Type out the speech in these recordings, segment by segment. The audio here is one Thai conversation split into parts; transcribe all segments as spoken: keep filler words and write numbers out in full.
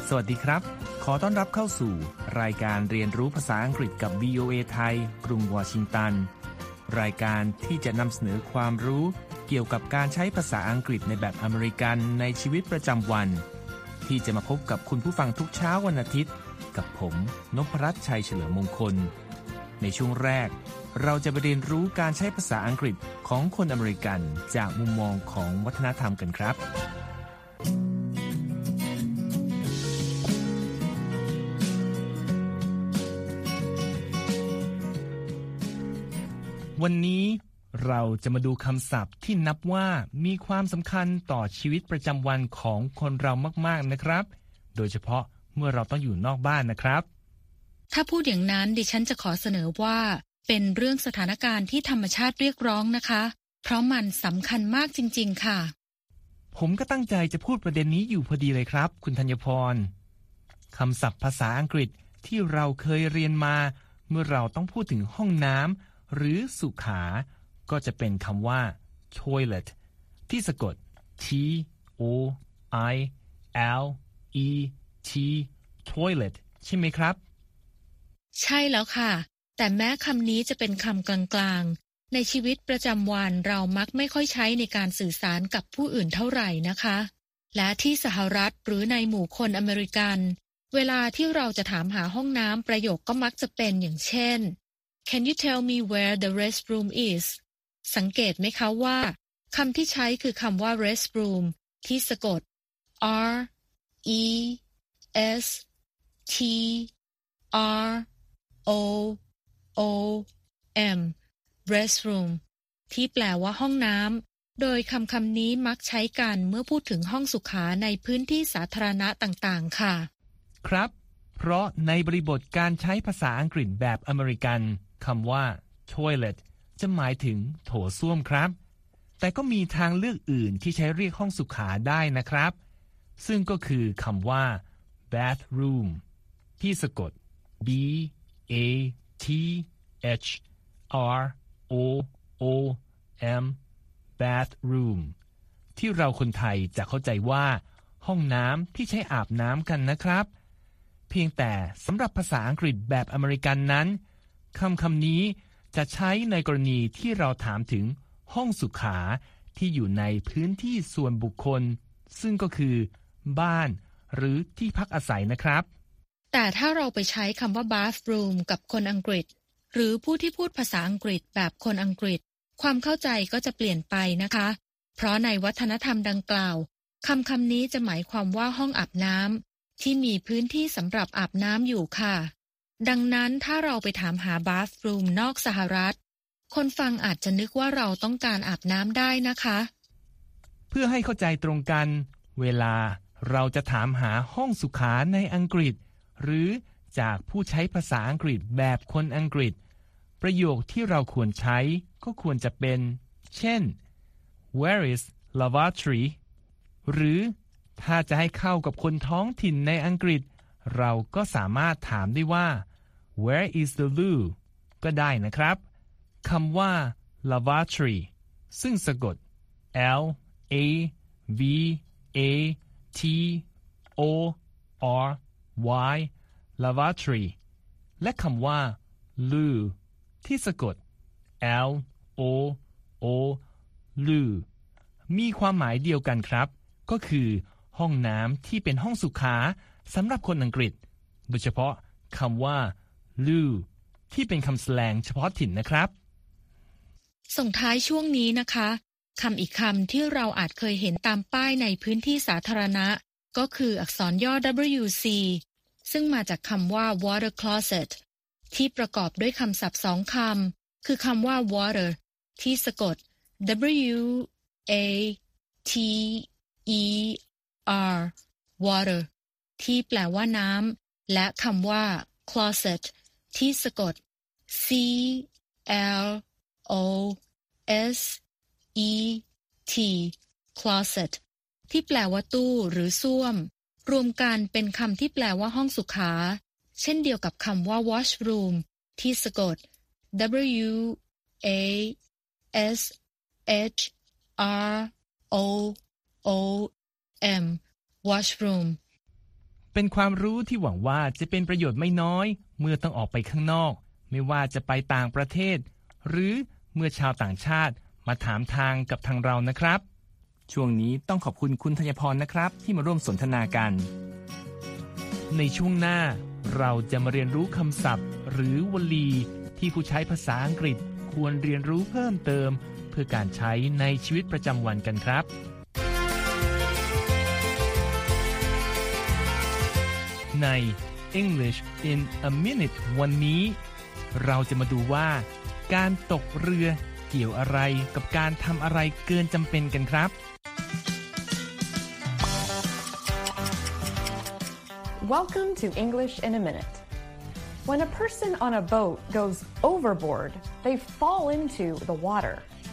สวัสดีครับขอต้อนรับเข้าสู่รายการเรียนรู้ภาษาอังกฤษกับ วี โอ เอ ไทยกรุงวอชิงตันรายการที่จะนำเสนอความรู้เกี่ยวกับการใช้ภาษาอังกฤษในแบบอเมริกันในชีวิตประจำวันที่จะมาพบกับคุณผู้ฟังทุกเช้าวันอาทิตย์กับผมนพรัตน์ชัยเฉลิมมงคลในช่วงแรกเราจะไปเรียนรู้การใช้ภาษาอังกฤษของคนอเมริกันจากมุมมองของวัฒนธรรมกันครับวันนี้เราจะมาดูคำศัพท์ที่นับว่ามีความสำคัญต่อชีวิตประจำวันของคนเรามากๆนะครับโดยเฉพาะเมื่อเราต้องอยู่นอกบ้านนะครับถ้าพูดอย่างนั้นดิฉันจะขอเสนอว่าเป็นเรื่องสถานการณ์ที่ธรรมชาติเรียกร้องนะคะเพราะมันสำคัญมากจริงๆค่ะผมก็ตั้งใจจะพูดประเด็นนี้อยู่พอดีเลยครับคุณธัญพรคำศัพท์ภาษาอังกฤษที่เราเคยเรียนมาเมื่อเราต้องพูดถึงห้องน้ำหรือสุขาก็จะเป็นคำว่า toilet ที่สะกด T O I L E T toilet ใช่ไหมครับใช่แล้วค่ะแต่แม้คำนี้จะเป็นคำกลางๆในชีวิตประจำวันเรามักไม่ค่อยใช้ในการสื่อสารกับผู้อื่นเท่าไหร่นะคะและที่สหรัฐหรือในหมู่คนอเมริกันเวลาที่เราจะถามหาห้องน้ำประโยคก็มักจะเป็นอย่างเช่นCan you tell me where the restroom is สังเกตไหมคะว่าคำที่ใช้คือคำว่า restroom ที่สะกด R E S T R O O M restroom ที่แปลว่าห้องน้ำโดยคำคำนี้มักใช้กันเมื่อพูดถึงห้องสุขาในพื้นที่สาธารณะต่างๆค่ะครับเพราะในบริบทการใช้ภาษาอังกฤษแบบอเมริกันคำว่า toilet จะหมายถึงโถส้วมครับแต่ก็มีทางเลือกอื่นที่ใช้เรียกห้องสุขาได้นะครับซึ่งก็คือคำว่า bathroom ที่สะกด B A T H R O O M bathroom ที่เราคนไทยจะเข้าใจว่าห้องน้ำที่ใช้อาบน้ำกันนะครับเพียงแต่สำหรับภาษาอังกฤษแบบอเมริกันนั้นคำคำนี้จะใช้ในกรณีที่เราถามถึงห้องสุขาที่อยู่ในพื้นที่ส่วนบุคคลซึ่งก็คือบ้านหรือที่พักอาศัยนะครับแต่ถ้าเราไปใช้คำว่า bathroom กับคนอังกฤษหรือผู้ที่พูดภาษาอังกฤษแบบคนอังกฤษความเข้าใจก็จะเปลี่ยนไปนะคะเพราะในวัฒนธรรมดังกล่าวคำคำนี้จะหมายความว่าห้องอาบน้ำที่มีพื้นที่สำหรับอาบน้ำอยู่ค่ะดังนั้นถ้าเราไปถามหา bathroom นอกสหรัฐคนฟังอาจจะนึกว่าเราต้องการอาบน้ำได้นะคะเพื่อให้เข้าใจตรงกันเวลาเราจะถามหาห้องสุขาในอังกฤษหรือจากผู้ใช้ภาษาอังกฤษแบบคนอังกฤษประโยคที่เราควรใช้ก็ควรจะเป็นเช่น Where is lavatory หรือถ้าจะให้เข้ากับคนท้องถิ่นในอังกฤษเราก็สามารถถามได้ว่า Where is the loo ก็ได้นะครับคำว่า lavatory ซึ่งสะกด L A V A T O R Y lavatory และคำว่า loo ที่สะกด L O O loo มีความหมายเดียวกันครับก็คือห้องน้ำที่เป็นห้องสุขาสำหรับคนอังกฤษโดยเฉพาะคำว่า loo ที่เป็นคำแสลงเฉพาะถิ่นนะครับส่งท้ายช่วงนี้นะคะคำอีกคำที่เราอาจเคยเห็นตามป้ายในพื้นที่สาธารณะก็คืออักษรย่อ ดับเบิลยู ซี ซึ่งมาจากคำว่า water closet ที่ประกอบด้วยคำศัพท์สองคำคือคำว่า water ที่สะกด W A T E R water ที่แปลว่าน้ำและคำว่า closet ที่สะกด C L O S E T closet ที่แปลว่าตู้หรือส้วมรวมกันเป็นคำที่แปลว่าห้องสุขาเช่นเดียวกับคำว่า washroom ที่สะกด W A S H R O O M washroom เป็นความรู้ที่หวังว่าจะเป็นประโยชน์ไม่น้อยเมื่อต้องออกไปข้างนอกไม่ว่าจะไปต่างประเทศหรือเมื่อชาวต่างชาติมาถามทางกับทางเรานะครับช่วงนี้ต้องขอบคุณคุณธัญพรนะครับที่มาร่วมสนทนากันในช่วงหน้าเราจะมาเรียนรู้คำศัพท์หรือวลีที่ผู้ใช้ภาษาอังกฤษควรเรียนรู้เพิ่มเติมเพื่อการใช้ในชีวิตประจำวันกันครับใน English in a Minute วันนี้เราจะมาดูว่าการตกเรือเกี่ยวอะไรกับการทำอะไรเกินจำเป็นกันครับ Welcome to English in a Minute. When a person on a boat goes overboard, they fall into the water.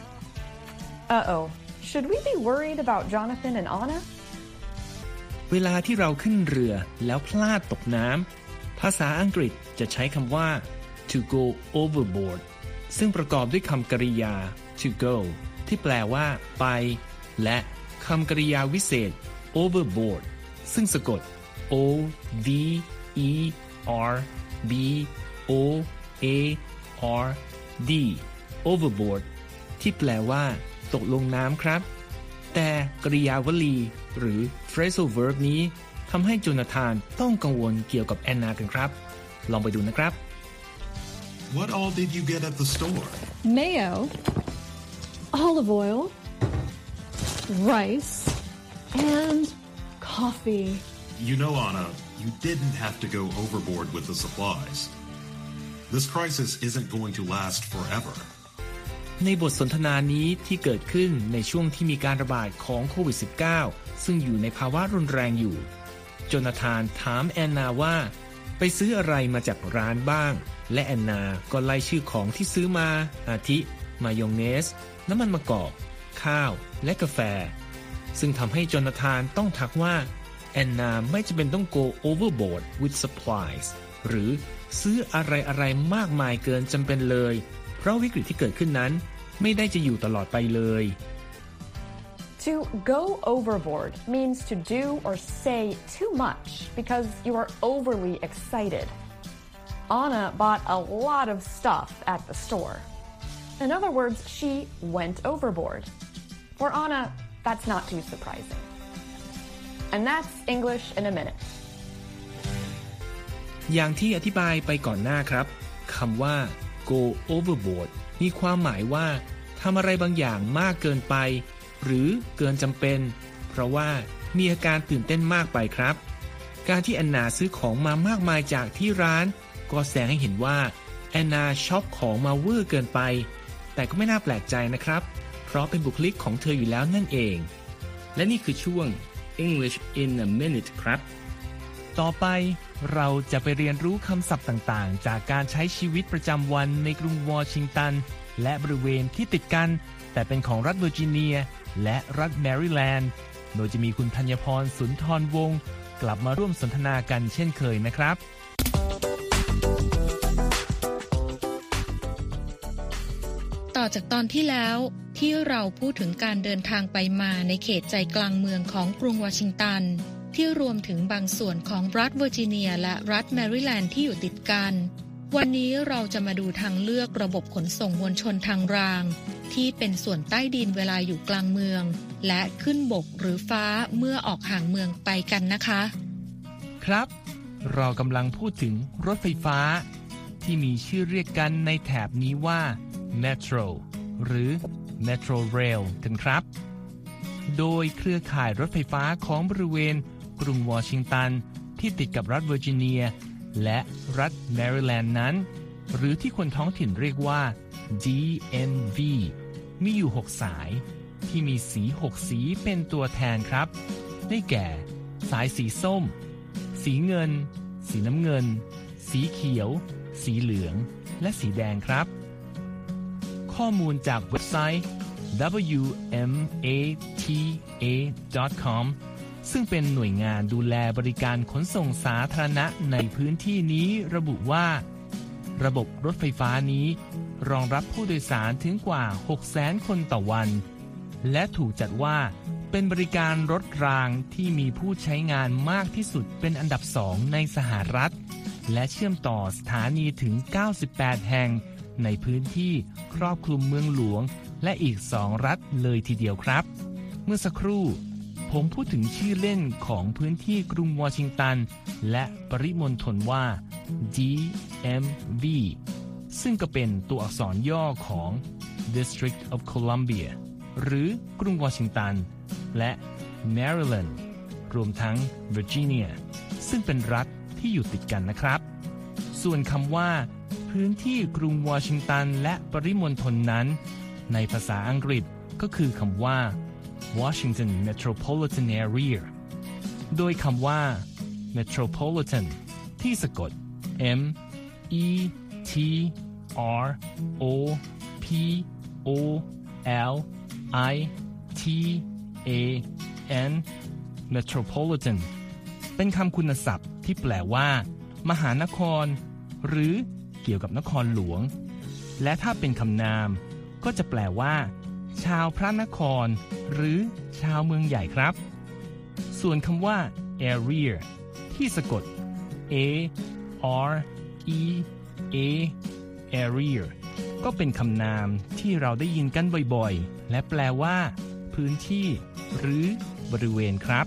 Uh-oh, should we be worried about Jonathan and Anna? เวลาที่เราขึ้นเรือแล้วพลาดตกน้ำภาษาอังกฤษจะใช้คำว่า to go overboard ซึ่งประกอบด้วยคำกริยา to go ที่แปลว่าไปและคำกริยาวิเศษ overboard ซึ่งสะกด o v e r b o a r d overboard ที่แปลว่าตกลงน้ำครับแต่กริยาวลีหรือ phrasal verb นี้ทำให้โจนาธานต้องกังวลเกี่ยวกับแอนนากันครับลองไปดูนะครับ What all did you get at the store? Mayo, olive oil, rice, and coffee. You know, Anna, you didn't have to go overboard with the supplies. This crisis isn't going to last forever. ในบทสนทนานี้ที่เกิดขึ้นในช่วงที่มีการระบาดของโควิด สิบเก้า ซึ่งอยู่ในภาวะรุนแรงอยู่โจนาธานถามแอนนาว่าไปซื้ออะไรมาจากร้านบ้างและแอนนาก็ไล่ชื่อของที่ซื้อมาอาทิมายองเนสน้ำมันมะกอกข้าวและกาแฟซึ่งทำให้โจนาธานต้องทักว่าแอนนาไม่จำเป็นต้อง go overboard with supplies หรือซื้ออะไรๆมากมายเกินจำเป็นเลยเพราะวิกฤตที่เกิดขึ้นนั้นไม่ได้จะอยู่ตลอดไปเลย To go overboard means to do or say too much because you are overly excited. Anna bought a lot of stuff at the store. In other words, she went overboard. For Anna, that's not too surprising. And that's English in a minute. อย่างที่อธิบายไปก่อนหน้าครับคำว่าgo overboard มีความหมายว่าทำอะไรบางอย่างมากเกินไปหรือเกินจำเป็นเพราะว่ามีอาการตื่นเต้นมากไปครับการที่แอนนาซื้อของมามากมายจากที่ร้านก็แสดงให้เห็นว่าแอนนาช็อปของมาเวอร์เกินไปแต่ก็ไม่น่าแปลกใจนะครับเพราะเป็นบุคลิกของเธออยู่แล้วนั่นเองและนี่คือช่วง English in a Minute ครับต่อไปเราจะไปเรียนรู้คำศัพท์ต่างๆจากการใช้ชีวิตประจำวันในกรุงวอชิงตันและบริเวณที่ติดกันแต่เป็นของรัฐเวอร์จิเนียและรัฐแมริแลนด์โดยจะมีคุณธัญพรสุนทรวงศ์กลับมาร่วมสนทนากันเช่นเคยนะครับต่อจากตอนที่แล้วที่เราพูดถึงการเดินทางไปมาในเขตใจกลางเมืองของกรุงวอชิงตันที่รวมถึงบางส่วนของรัฐเวอร์จิเนียและรัฐแมริแลนด์ที่อยู่ติดกันวันนี้เราจะมาดูทางเลือกระบบขนส่งมวลชนทางรางที่เป็นส่วนใต้ดินเวลาอยู่กลางเมืองและขึ้นบกหรือฟ้าเมื่อออกห่างเมืองไปกันนะคะครับเรากำลังพูดถึงรถไฟฟ้าที่มีชื่อเรียกกันในแถบนี้ว่า Metro หรือ Metro Rail กันครับโดยเครือข่ายรถไฟฟ้าของบริเวณกรุงวอชิงตันที่ติดกับรัฐเวอร์จิเนียและรัฐแมริแลนด์นั้นหรือที่คนท้องถิ่นเรียกว่า ดี เอ็ม วี มีอยู่หกสายที่มีสีหกสีเป็นตัวแทนครับได้แก่สายสีส้มสีเงินสีน้ำเงินสีเขียวสีเหลืองและสีแดงครับข้อมูลจากเว็บไซต์ ดับเบิลยู เอ็ม เอ ที เอ ดอท คอม ซึ่งเป็นหน่วยงานดูแลบริการขนส่งสาธารณะในพื้นที่นี้ระบุว่าระบบรถไฟฟ้านี้รองรับผู้โดยสารถึงกว่า หกแสน คนต่อวันและถูกจัดว่าเป็นบริการรถรางที่มีผู้ใช้งานมากที่สุดเป็นอันดับสองในสหรัฐและเชื่อมต่อสถานีถึงเก้าสิบแปดแห่งในพื้นที่ครอบคลุมเมืองหลวงและอีกสองรัฐเลยทีเดียวครับเมื่อสักครู่ผมพูดถึงชื่อเล่นของพื้นที่กรุงวอชิงตันและปริมณฑลว่า ดี เอ็ม วี ซึ่งก็เป็นตัวอักษรย่อของ District of Columbia หรือกรุงวอชิงตันและ Maryland รวมทั้ง Virginia ซึ่งเป็นรัฐที่อยู่ติดกันนะครับส่วนคำว่าพื้นที่กรุงวอชิงตันและปริมณฑลนั้นในภาษาอังกฤษก็คือคำว่า Washington Metropolitan Area โดยคำว่า Metropolitan ที่สะกด M E T R O P O L I T A N Metropolitan เป็นคำคุณศัพท์ที่แปลว่ามหานครหรือเกี่ยวกับนครหลวงและถ้าเป็นคำนามก็จะแปลว่าชาวพระนครหรือชาวเมืองใหญ่ครับส่วนคำว่า area ที่สะกด A R E A area ก็เป็นคำนามที่เราได้ยินกันบ่อยๆและแปลว่าพื้นที่หรือบริเวณครับ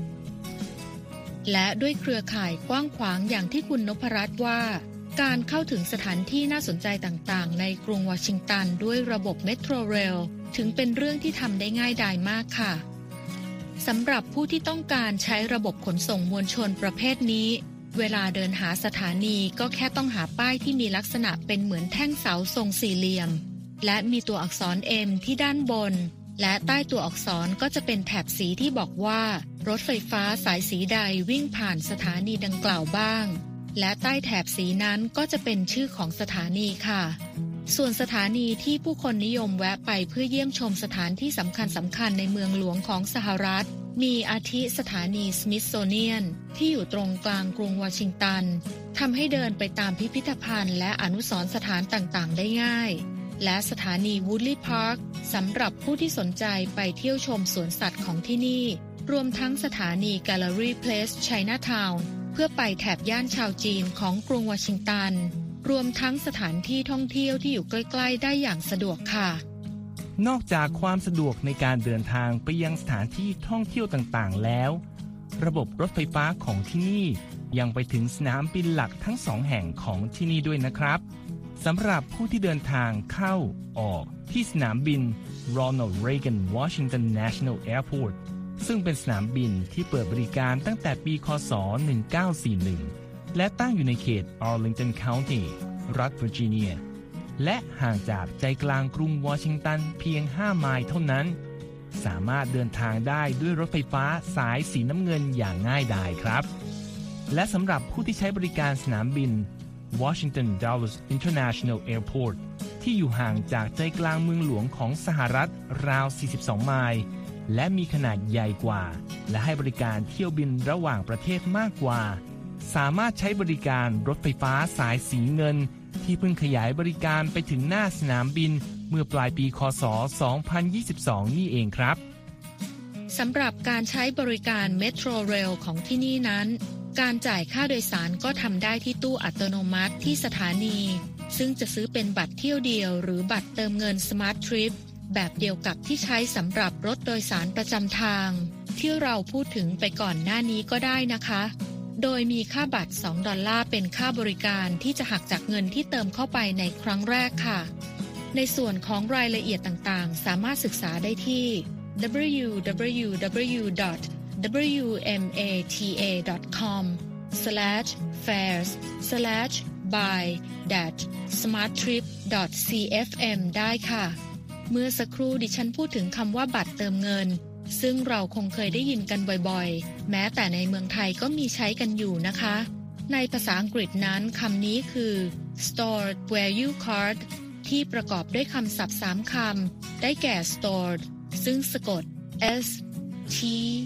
และด้วยเครือข่ายกว้างขวางอย่างที่คุณนพรัตน์ว่าการเข้าถึงสถานที่น่าสนใจต่างๆในกรุงวอชิงตันด้วยระบบเมโทรเรลถึงเป็นเรื่องที่ทำได้ง่ายดายมากค่ะสำหรับผู้ที่ต้องการใช้ระบบขนส่งมวลชนประเภทนี้เวลาเดินหาสถานีก็แค่ต้องหาป้ายที่มีลักษณะเป็นเหมือนแท่งเสาทรงสี่เหลี่ยมและมีตัวอักษร M ที่ด้านบนและใต้ตัวอักษรก็จะเป็นแถบสีที่บอกว่ารถไฟฟ้าสายสีใดวิ่งผ่านสถานีดังกล่าวบ้างและใต้แถบสีนั้นก็จะเป็นชื่อของสถานีค่ะส่วนสถานีที่ผู้คนนิยมแวะไปเพื่อเยี่ยมชมสถานที่สำคัญสำคัญในเมืองหลวงของสหรัฐมีอาทิสถานีสมิธโซเนียนที่อยู่ตรงกลางกรุงวอชิงตันทำให้เดินไปตามพิพิธภัณฑ์และอนุสรณ์สถานต่างๆได้ง่ายและสถานีวูดลีย์พาร์คสำหรับผู้ที่สนใจไปเที่ยวชมสวนสัตว์ของที่นี่รวมทั้งสถานี Gallery Place Chinatown เพื่อไปแถบย่านชาวจีนของกรุงวอชิงตันรวมทั้งสถานที่ท่องเที่ยวที่อยู่ใกล้ๆได้อย่างสะดวกค่ะนอกจากความสะดวกในการเดินทางไปยังสถานที่ท่องเที่ยวต่างๆแล้วระบบรถไฟฟ้าของที่นี่ยังไปถึงสนามบินหลักทั้งสองแห่งของที่นี่ด้วยนะครับสำหรับผู้ที่เดินทางเข้าออกที่สนามบิน Ronald Reagan Washington National Airport ซึ่งเป็นสนามบินที่เปิดบริการตั้งแต่ปีค.ศ. หนึ่งเก้าสี่หนึ่งและตั้งอยู่ในเขต Arlington County รัฐเวอร์จิเนียและห่างจากใจกลางกรุงวอชิงตันเพียงห้าไมล์เท่านั้นสามารถเดินทางได้ด้วยรถไฟฟ้าสายสีน้ำเงินอย่างง่ายดายครับและสำหรับผู้ที่ใช้บริการสนามบิน Washington Dulles International Airport ที่อยู่ห่างจากใจกลางเมืองหลวงของสหรัฐราวสี่สิบสองไมล์และมีขนาดใหญ่กว่าและให้บริการเที่ยวบินระหว่างประเทศมากกว่าสามารถใช้บริการรถไฟฟ้าสายสีเงินที่เพิ่งขยายบริการไปถึงหน้าสนามบินเมื่อปลายปีค.ศ. สองพันยี่สิบสองนี่เองครับสำหรับการใช้บริการเมโทรเรลของที่นี่นั้นการจ่ายค่าโดยสารก็ทำได้ที่ตู้อัตโนมัติที่สถานีซึ่งจะซื้อเป็นบัตรเที่ยวเดียวหรือบัตรเติมเงิน Smart Trip แบบเดียวกับที่ใช้สำหรับรถโดยสารประจำทางที่เราพูดถึงไปก่อนหน้านี้ก็ได้นะคะโดยมีค่าบัตรสองดอลลาร์เป็นค่าบริการที่จะหักจากเงินที่เติมเข้าไปในครั้งแรกค่ะในส่วนของรายละเอียดต่างๆสามารถศึกษาได้ที่ ดับเบิลยู ดับเบิลยู ดับเบิลยู ดอท ดับเบิลยู เอ็ม เอ ที เอ ดอท คอม สแลช แฟร์ส สแลช บาย สมาร์ททริป ดอท ซี เอฟ เอ็ม ได้ค่ะเมื่อสักครู่ดิฉันพูดถึงคำว่าบัตรเติมเงินซึ่งเราคงเคยได้ยินกันบ่อยๆแม้แต่ในเมืองไทยก็มีใช้กันอยู่นะคะในภาษาอังกฤษนั้นคำนี้คือ stored value card ที่ประกอบด้วยคำศัพท์สามคำได้แก่ stored ซึ่งสะกด S T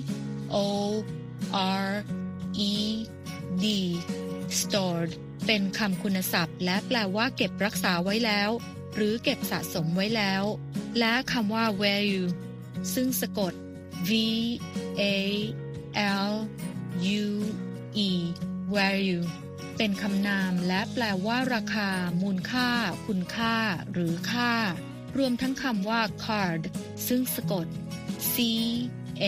O R E D stored เป็นคำคุณศัพท์และแปลว่าเก็บรักษาไว้แล้วหรือเก็บสะสมไว้แล้วและคำว่า value ซึ่งสะกด V A L U E value เป็นคำนามและแปลว่าราคามูลค่าคุณค่าหรือค่ารวมทั้งคำว่า card ซึ่งสะกด C A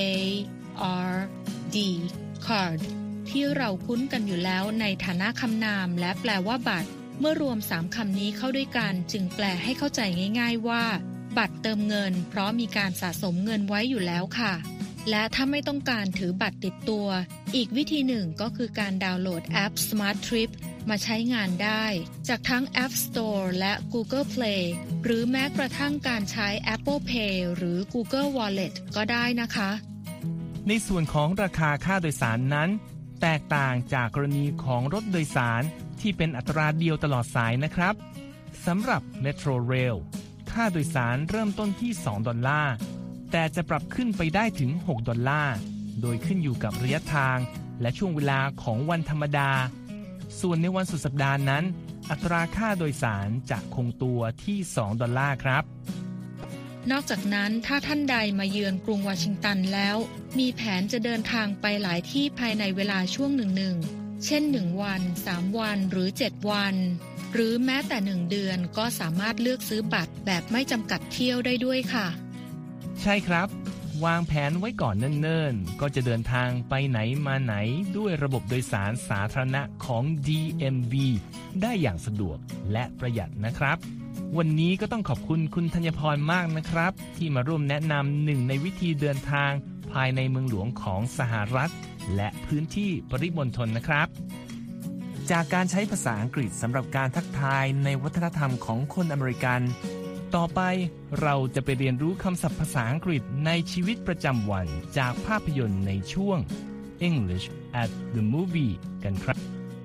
R D card ที่เราคุ้นกันอยู่แล้วในฐานะคำนามและแปลว่าบัตรเมื่อรวมสามคำนี้เข้าด้วยกันจึงแปลให้เข้าใจง่ายๆว่าบัตรเติมเงินเพราะมีการสะสมเงินไว้อยู่แล้วค่ะและถ้าไม่ต้องการถือบัตรติดตัวอีกวิธีหนึ่งก็คือการดาวน์โหลดแอป Smart Trip มาใช้งานได้จากทั้ง App Store และ Google Play หรือแม้กระทั่งการใช้ Apple Pay หรือ Google Wallet ก็ได้นะคะในส่วนของราคาค่าโดยสารนั้นแตกต่างจากกรณีของรถโดยสารที่เป็นอัตราเดียวตลอดสายนะครับสำหรับ Metro Rail ค่าโดยสารเริ่มต้นที่สองดอลลาร์แต่จะปรับขึ้นไปได้ถึงหกดอลลาร์โดยขึ้นอยู่กับระยะทางและช่วงเวลาของวันธรรมดาส่วนในวันสุดสัปดาห์นั้นอัตราค่าโดยสารจะคงตัวที่สองดอลลาร์ครับนอกจากนั้นถ้าท่านใดมาเยือนกรุงวอชิงตันแล้วมีแผนจะเดินทางไปหลายที่ภายในเวลาช่วงหนึ่งๆเช่นหนึ่งวันสามวันหรือเจ็ดวันหรือแม้แต่หนึ่งเดือนก็สามารถเลือกซื้อบัตรแบบไม่จำกัดเที่ยวได้ด้วยค่ะใช่ครับวางแผนไว้ก่อนเนิ่นๆก็จะเดินทางไปไหนมาไหนด้วยระบบโดยสารสาธารณะของ ดี เอ็ม วี ได้อย่างสะดวกและประหยัดนะครับวันนี้ก็ต้องขอบคุณคุณธัญพรมากนะครับที่มาร่วมแนะนำหนึ่งในวิธีเดินทางภายในเมืองหลวงของสหรัฐและพื้นที่ปริมณฑลนะครับจากการใช้ภาษาอังกฤษสำหรับการทักทายในวัฒนธรรมของคนอเมริกันต่อไปเราจะไปเรียนรู้คำศัพท์ภาษาอังกฤษในชีวิตประจำวันจากภาพยนตร์ในช่วง English at the Movie กันครับ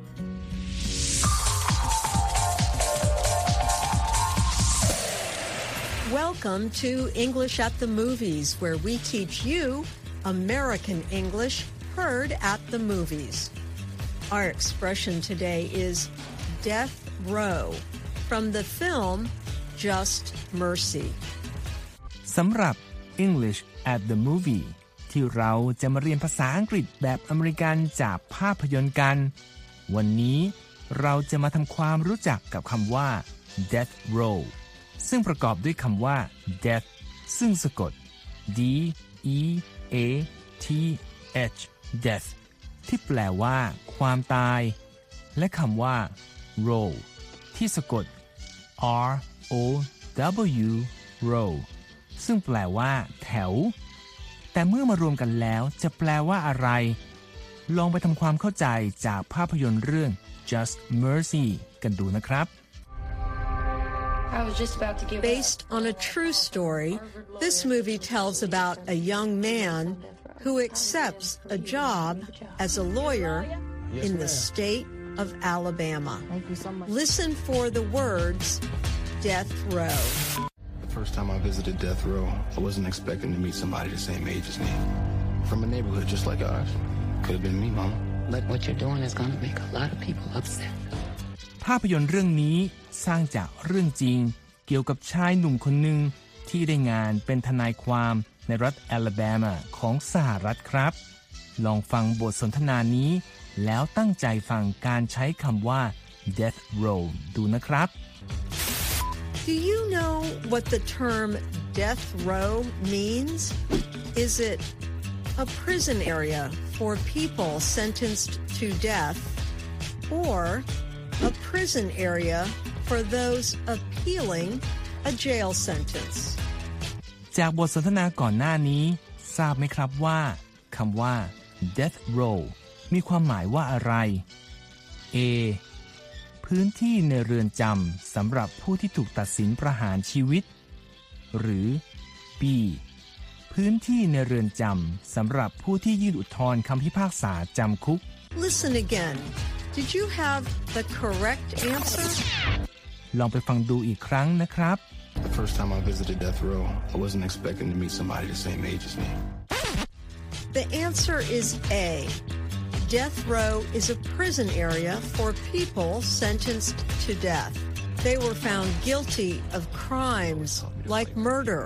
Welcome to English at the Movies, where we teach you American English heard at the movies. Our expression today is death row from the film Just Mercy สำหรับ English at the Movie ที่เราจะมาเรียนภาษาอังกฤษแบบอเมริกันจากภาพยนตร์กันวันนี้เราจะมาทำความรู้จักกับคำว่า death row ซึ่งประกอบด้วยคำว่า death ซึ่งสะกด D E A T H death ที่แปลว่าความตายและคำว่า row ที่สะกด R O W row ซึ่งแปลว่าแถวแต่เมื่อมารวมกันแล้วจะแปลว่าอะไรลองไปทำความเข้าใจจากภาพยนตร์เรื่อง Just Mercy กันดูนะครับ Based on a true story, this movie tells about a young man who accepts a job as a lawyer in the state of Alabama. Listen for the words death row. The first time I visited death row, I wasn't expecting to meet somebody the same age as me. From a neighborhood just like ours. Could have been me, Mama. But what you're doing is going to make a lot of people upset. ภาพยนตร์เรื่องนี้สร้างจากเรื่องจริงเกี่ยวกับชายหนุ่มคนหนึ่งที่ได้งานเป็นทนายความในรัฐแอลาบามาของสหรัฐครับลองฟังบทสนทนานี้แล้วตั้งใจฟังการใช้คำว่า death row ดูนะครับ Do you know what the term death row means? Is it a prison area for people sentenced to death or a prison area for those appealing a jail sentence? จากบทสนทนาก่อนหน้านี้ทราบไหมครับว่าคำว่า death row มีความหมายว่าอะไร A พื้นที่ในเรือนจำสำหรับผู้ที่ถูกตัดสินประหารชีวิตหรือ B พื้นที่ในเรือนจำสำหรับผู้ที่ยื่นอุทธรณ์คำพิพากษาจำคุก Listen again. Did you have the correct answer? ลองไปฟังดูอีกครั้งนะครับ The first time I visited death row, I wasn't expecting to meet somebody the same age as me. The answer is A. Death row is a prison area for people sentenced to death. They were found guilty of crimes like murder,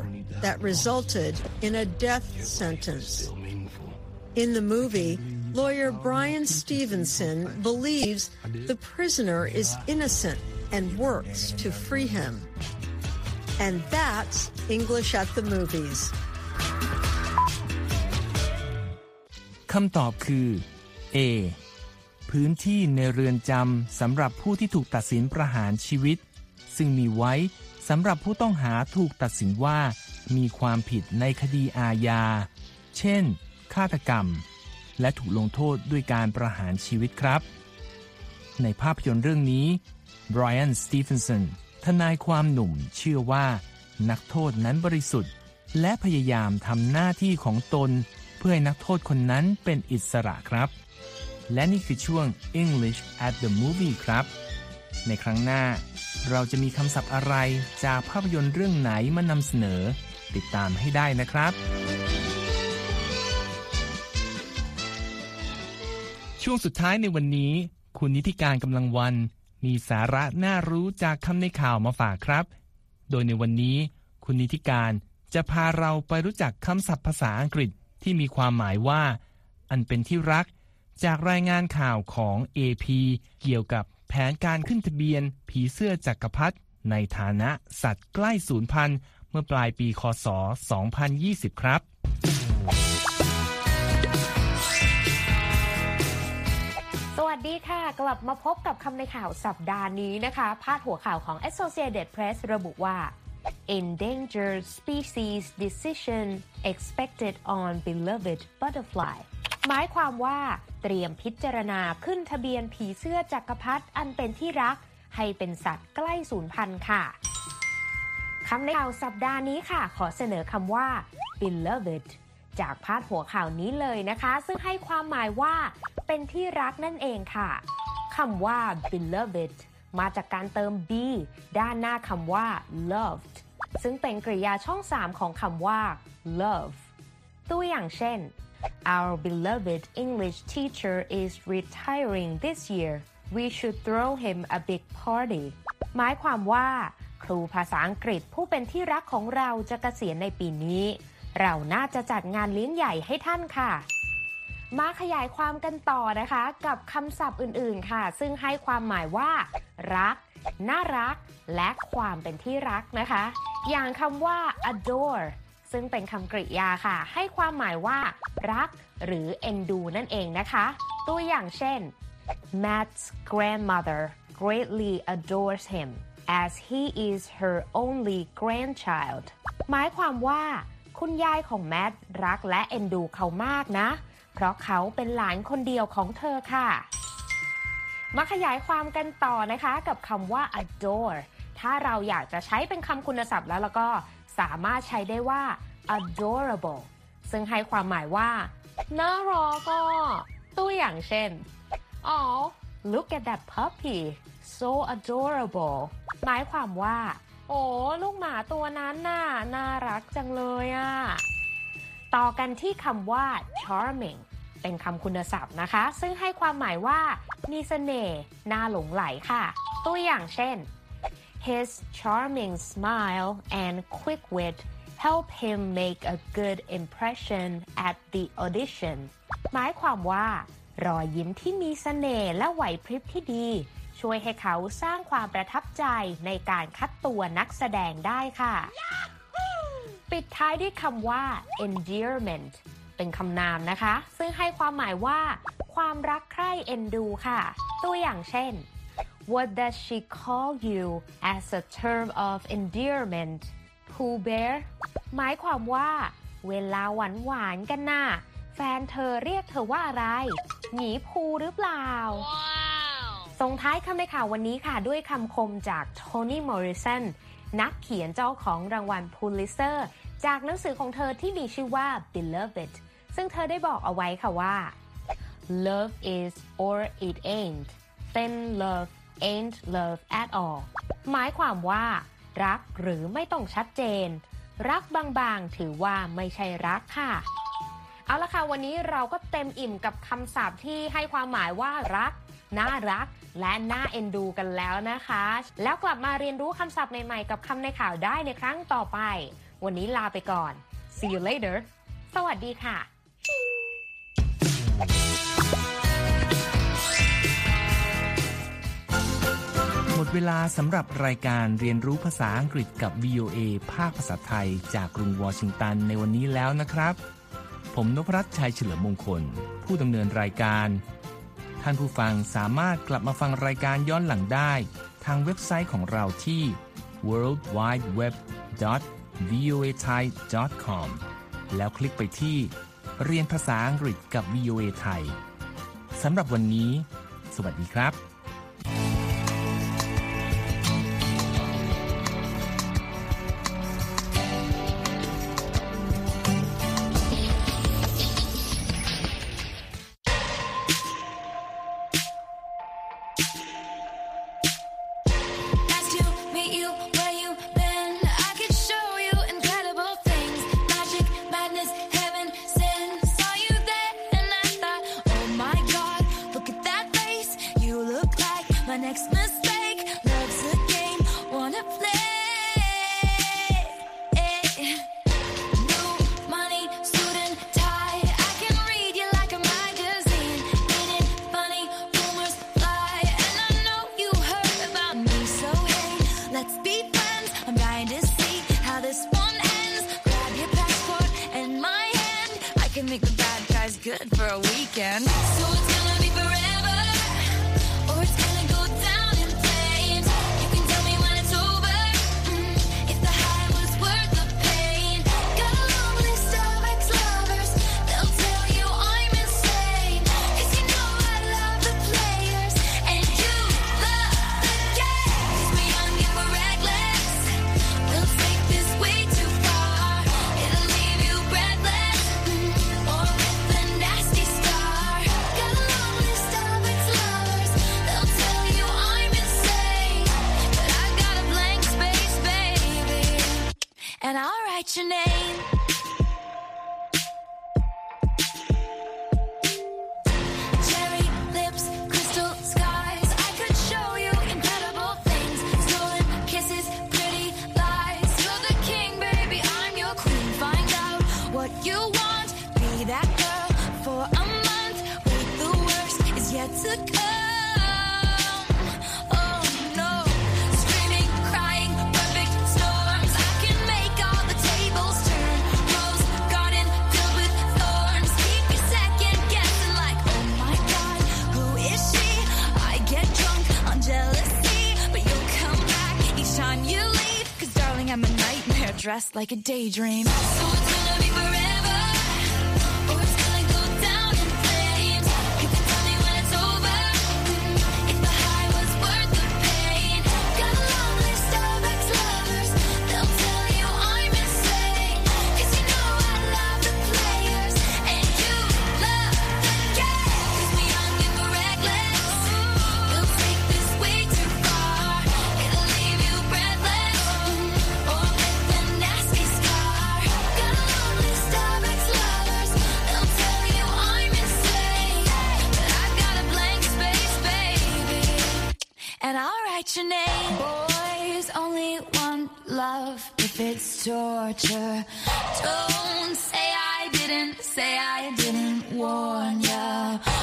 that resulted in a death sentence. In the movie, lawyer Brian Stevenson believes the prisoner is innocent and works to free him. And that's English at the Movies. คำตอบคือ A พื้นที่ในเรือนจำสำหรับผู้ที่ถูกตัดสินประหารชีวิตซึ่งมีไว้สำหรับผู้ต้องหาถูกตัดสินว่ามีความผิดในคดีอาญาเช่นฆาตกรรมและถูกลงโทษด้วยการประหารชีวิตครับในภาพยนตร์เรื่องนี้ไบรอัน สตีเฟนสันทนายความหนุ่มเชื่อว่านักโทษนั้นบริสุทธิ์และพยายามทำหน้าที่ของตนเพื่อให้นักโทษคนนั้นเป็นอิสระครับและนี่คือช่วง English at the Movie ครับในครั้งหน้าเราจะมีคำศัพท์อะไรจากภาพยนตร์เรื่องไหนมานำเสนอติดตามให้ได้นะครับช่วงสุดท้ายในวันนี้คุณนิติการกำลังวันมีสาระน่ารู้จากคำในข่าวมาฝากครับโดยในวันนี้คุณนิติการจะพาเราไปรู้จักคำศัพท์ภาษาอังกฤษที่มีความหมายว่าอันเป็นที่รักจากรายงานข่าวของ เอ พี เกี่ยวกับแผนการขึ้นทะเบียนผีเสื้อจักรพรรดิในฐานะสัตว์ใกล้สูญพันธุ์เมื่อปลายปีค.ศ. สองพันยี่สิบครับสวัสดีค่ะกลับมาพบกับคำในข่าวสัปดาห์นี้นะคะพาดหัวข่าวของ Associated Press ระบุว่า Endangered Species Decision Expected on Beloved Butterfly หมายความว่าเตรียมพิจารณาขึ้นทะเบียนผีเสื้อจักรพรรดิอันเป็นที่รักให้เป็นสัตว์ใกล้สูญพันธุ์ค่ะคำในข่าวสัปดาห์นี้ค่ะขอเสนอคำว่า beloved จากพาดหัวข่าวนี้เลยนะคะซึ่งให้ความหมายว่าเป็นที่รักนั่นเองค่ะคำว่า beloved มาจากการเติม be ด้านหน้าคำว่า loved ซึ่งเป็นกริยาช่องสามของคำว่า love ตัวอย่างเช่นOur beloved English teacher is retiring this year. We should throw him a big party. หมายความว่าครูภาษาอังกฤษผู้เป็นที่รักของเราจะเกษียณในปีนี้เราน่าจะจัดงานเลี้ยงใหญ่ให้ท่านค่ะมาขยายความกันต่อนะคะกับคำศัพท์อื่นๆค่ะซึ่งให้ความหมายว่ารักน่ารักและความเป็นที่รักนะคะอย่างคำว่า adoreซึ่งเป็นคำกริยาค่ะให้ความหมายว่ารักหรือเอ็นดูนั่นเองนะคะตัวอย่างเช่น Matt's grandmother greatly adores him as he is her only grandchild หมายความว่าคุณยายของแมทรักและเอ็นดูเขามากนะเพราะเขาเป็นหลานคนเดียวของเธอค่ะมาขยายความกันต่อนะคะกับคำว่า adore ถ้าเราอยากจะใช้เป็นคำคุณศัพท์แล้วแล้วก็สามารถใช้ได้ว่า adorable ซึ่งให้ความหมายว่าน่ารักก็ตัวอย่างเช่น Oh look at that puppy so adorable หมายความว่าโอ้ลูกหมาตัวนั้นน่ะน่ารักจังเลยอ่ะต่อกันที่คำว่า charming เป็นคำคุณศัพท์นะคะซึ่งให้ความหมายว่ามีเสน่ห์น่าหลงไหลค่ะตัวอย่างเช่นHis charming smile and quick wit help him make a good impression at the audition หมายความว่ารอยยิ้มที่มีเสน่ห์และไหวพริบที่ดีช่วยให้เขาสร้างความประทับใจในการคัดตัวนักแสดงได้ค่ะ ปิดท้ายด้วยคำว่า endearment เป็นคำนามนะคะซึ่งให้ความหมายว่าความรักใคร่เอ็นดูค่ะตัวอย่างเช่นWhat does she call you as a term of endearment? Pooh Bear หมายความว่าเวลาหวานหวานกันน่ะแฟนเธอเรียกเธอว่าอะไรหมีภูหรือเปล่า wow. ส่งท้ายคำในข่าววันนี้ค่ะด้วยคำคมจากโทนี่มอริสันนักเขียนเจ้าของรางวัลพูลิตเซอร์จากหนังสือของเธอที่มีชื่อว่า Beloved ซึ่งเธอได้บอกเอาไว้ค่ะว่า Love is or it ain't then love ain't love at all หมายความว่ารักหรือไม่ต้องชัดเจนรักบางๆถือว่าไม่ใช่รักค่ะเอาละค่ะวันนี้เราก็เต็มอิ่มกับคำศัพท์ที่ให้ความหมายว่ารักน่ารักและน่าเอ็นดูกันแล้วนะคะแล้วกลับมาเรียนรู้คำศัพท์ใหม่ๆกับคำในข่าวได้ในครั้งต่อไปวันนี้ลาไปก่อน see you later สวัสดีค่ะหมดเวลาสำหรับรายการเรียนรู้ภาษาอังกฤษกับ วี โอ เอ ภาคภาษาไทยจากกรุงวอชิงตันในวันนี้แล้วนะครับผมนพรัตน์ชัยเฉลิมมงคลผู้ดำเนินรายการท่านผู้ฟังสามารถกลับมาฟังรายการย้อนหลังได้ทางเว็บไซต์ของเราที่ ดับเบิลยู ดับเบิลยู ดับเบิลยู ดอท วี โอ เอ ไทย ดอท คอม แล้วคลิกไปที่เรียนภาษาอังกฤษกับ วี โอ เอ ไทยสำหรับวันนี้สวัสดีครับ Good for a weekend. So it's gonna be forever, or it's gonna go down in flames. You can tell me when it's over, mm, if the high was worth the pain. Got a long list of ex-lovers, they'll tell you I'm insane. Cause you know I love the players, and you love the game. Cause we're young and we're reckless, we'll take this way too far. It'll leave you breathless, mm, or with a nasty scar. Got a long list of ex-lovers, they'll tell you I'm insane. But I've got a blank space, baby, and I'll write your name. Cherry lips, crystal skies, I could show you incredible things. Stolen kisses, pretty lies. You're the king, baby, I'm your queen. Find out what you want, be that girl for a month. Wait, the worst is yet to come. Oh no, screaming, crying, perfect storms. I can make all the tables turn. Rose garden filled with thorns. Keep you second guessing like, oh my god, who is she? I get drunk on jealousy, but you'll come back each time you leave. Cause darling, I'm a nightmare dressed like a daydream. So it's gonna be forever, or it's gonna go down in flames. You can tell me when it's over, mm, if the high was worth the pain. Got a long list of ex-lovers, they'll tell you I'm insane. Cause you know I love the players, and you love the game. Cause we're young and we're reckless, we'll take this way too far. It'll leave you breathless, mm, or with a nasty scar. Got a long list of ex-lovers, they'll tell you I'm insane. But I've got a blank space, baby, and I'll write your name. Boys only want love if it's torture. Don't say I didn't, say I didn't warn ya.